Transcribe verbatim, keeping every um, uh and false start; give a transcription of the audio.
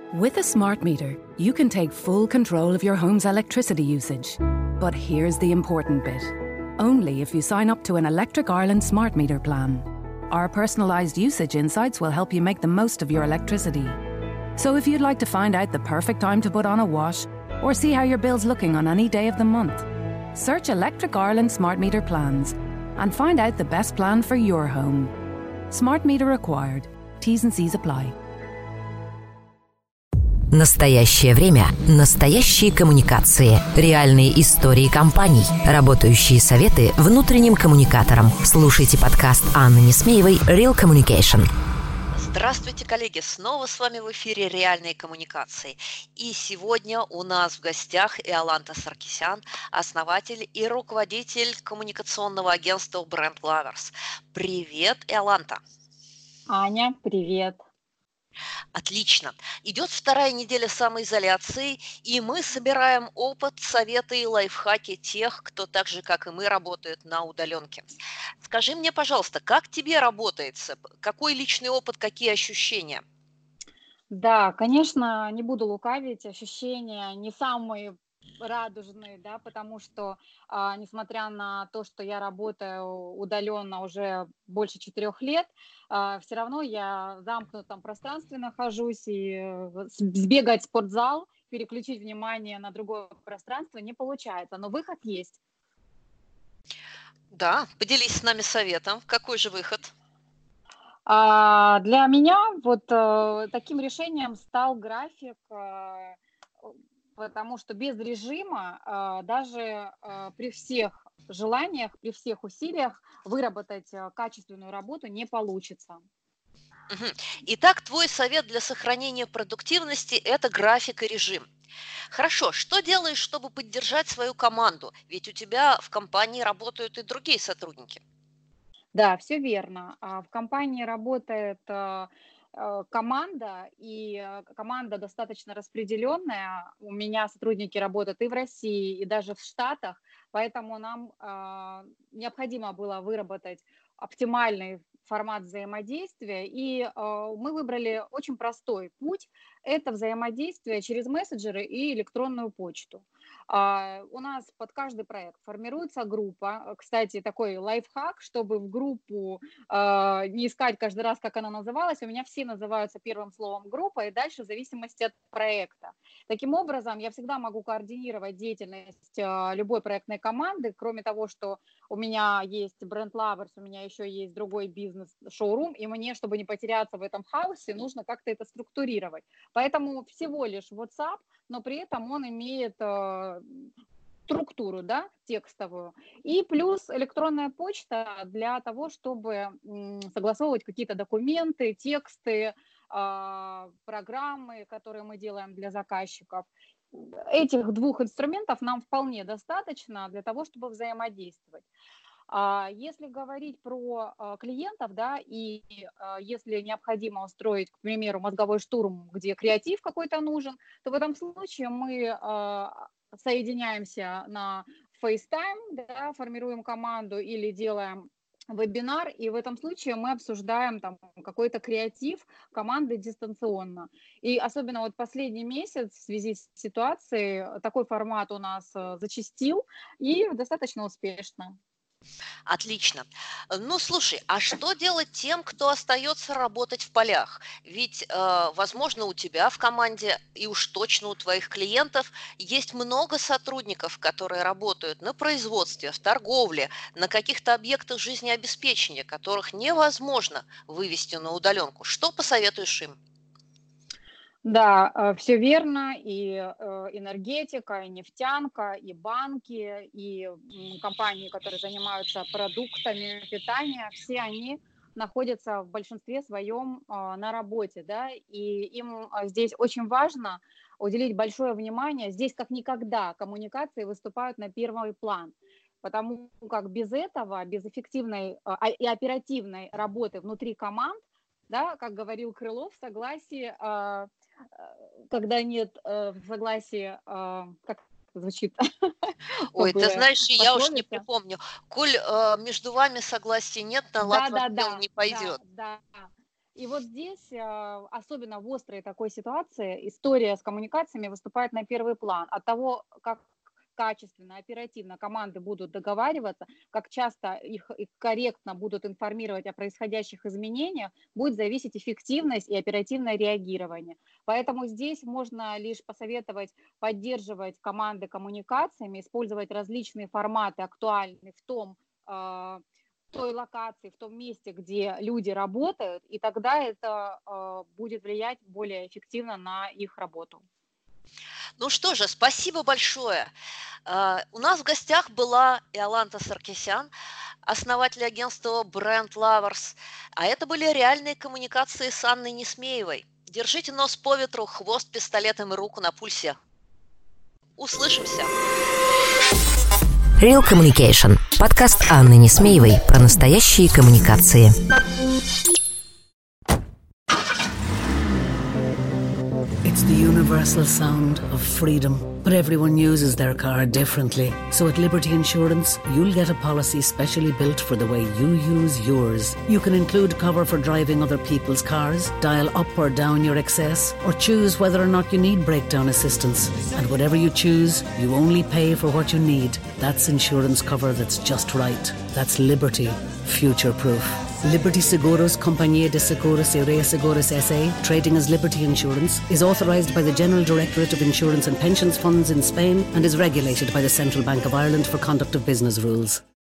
With a smart meter, you can take full control of your home's electricity usage. But here's the important bit. Only if you sign up to an Electric Ireland smart meter plan. Our personalised usage insights will help you make the most of your electricity. So if you'd like to find out the perfect time to put on a wash or see how your bill's looking on any day of the month, search Electric Ireland smart meter plans and find out the best plan for your home. Smart meter required. T's and C's apply. Настоящее время, настоящие коммуникации, реальные истории компаний, работающие советы внутренним коммуникаторам. Слушайте подкаст Анны Несмеевой «Real Communication». Здравствуйте, коллеги! Снова с вами в эфире «Реальные коммуникации». И сегодня у нас в гостях Иоланта Саркисян, основатель и руководитель коммуникационного агентства Brand Lovers. Привет, Иоланта! Аня, привет! Отлично. Идет вторая неделя самоизоляции, и мы собираем опыт, советы и лайфхаки тех, кто так же, как и мы, работает на удаленке. Скажи мне, пожалуйста, как тебе работается? Какой личный опыт, какие ощущения? Да, конечно, не буду лукавить, ощущения не самые радужные, да, потому что, а, несмотря на то, что я работаю удаленно уже больше четырех лет, а, все равно я в замкнутом пространстве нахожусь, и э, с- сбегать в спортзал, переключить внимание на другое пространство не получается, но выход есть. Да, поделись с нами советом. Какой же выход? А, для меня вот э, таким решением стал график, э, потому что без режима э, даже э, при всех желаниях, при всех усилиях выработать э, качественную работу не получится. Мгм. Итак, твой совет для сохранения продуктивности – это график и режим. Хорошо, что делаешь, чтобы поддержать свою команду? Ведь у тебя в компании работают и другие сотрудники. Да, все верно. А, В компании работает э, э, команда, и э, команда достаточно распределенная. У меня сотрудники работают и в России, и даже в Штатах, поэтому нам а, необходимо было выработать оптимальный формат взаимодействия, и э, мы выбрали очень простой путь. Это взаимодействие через мессенджеры и электронную почту. А, У нас под каждый проект формируется группа. Э, Кстати, такой лайфхак, чтобы в группу а, не искать каждый раз, как она называлась. У меня все называются первым словом группа, и дальше в зависимости от проекта. Таким образом, я всегда могу координировать деятельность а, любой проектной команды, кроме того, что у меня есть Brand Lovers, у меня еще есть другой бизнес-шоурум, и мне, чтобы не потеряться в этом хаосе, нужно как-то это структурировать. Поэтому всего лишь WhatsApp, но при этом он имеет э, структуру, да, текстовую. И плюс электронная почта для того, чтобы м, согласовывать какие-то документы, тексты, а, программы, которые мы делаем для заказчиков. Этих двух инструментов нам вполне достаточно для того, чтобы взаимодействовать. А если говорить про а, клиентов, да, и а, если необходимо устроить, к примеру, мозговой штурм, где креатив какой-то нужен, то в этом случае мы а, соединяемся на FaceTime, да, формируем команду или делаем вебинар, и в этом случае мы обсуждаем там какой-то креатив команды дистанционно. И особенно вот последний месяц в связи с ситуацией такой формат у нас э, зачастил и достаточно успешно. Отлично. Э, Ну, слушай, а что делать тем, кто остается работать в полях? Ведь, э, возможно, у тебя в команде и уж точно у твоих клиентов есть много сотрудников, которые работают на производстве, в торговле, на каких-то объектах жизнеобеспечения, которых невозможно вывести на удаленку. Что посоветуешь им? Да, все верно. И э, энергетика, и нефтянка, и банки, и м, компании, которые занимаются продуктами питания, все они находятся в большинстве своем а, на работе, да, и им а, здесь очень важно уделить большое внимание. Здесь как никогда коммуникации выступают на первый план, потому как без этого, без эффективной а, а, и оперативной работы внутри команд, да, как говорил Крылов, согласие, а, а, когда нет э, согласия, а, как это звучит, Ой, ты забыла знаешь, и я уж не пословица. припомню. Коль э, между вами согласия нет, на лад Да, ваш да, дел да, не да, пойдет. да. И вот здесь, особенно в острой такой ситуации, история с коммуникациями выступает на первый план. От того, как качественно, оперативно команды будут договариваться, как часто их, их корректно будут информировать о происходящих изменениях, будет зависеть эффективность и оперативное реагирование. Поэтому здесь можно лишь посоветовать поддерживать команды коммуникациями, использовать различные форматы, актуальные в том, э, той локации, в том месте, где люди работают, и тогда это э, будет влиять более эффективно на их работу. Ну что же, спасибо большое. Uh, у нас в гостях была Иоланта Саркисян, основатель агентства Brand Lovers, а это были реальные коммуникации с Анной Несмеевой. Держите нос по ветру, хвост пистолетом и руку на пульсе. Услышимся. Real Communication. Подкаст Анны Несмеевой про настоящие коммуникации. It's the universal sound of freedom, but everyone uses their car differently. So at Liberty Insurance, you'll get a policy specially built for the way you use yours. You can include cover for driving other people's cars, dial up or down your excess, or choose whether or not you need breakdown assistance. And whatever you choose, you only pay for what you need. That's insurance cover that's just right. That's Liberty, future-proof. Liberty Seguros Compañía de Seguros y Reaseguros S A, trading as Liberty Insurance, is authorised by the General Directorate of Insurance and Pensions Funds in Spain and is regulated by the Central Bank of Ireland for conduct of business rules.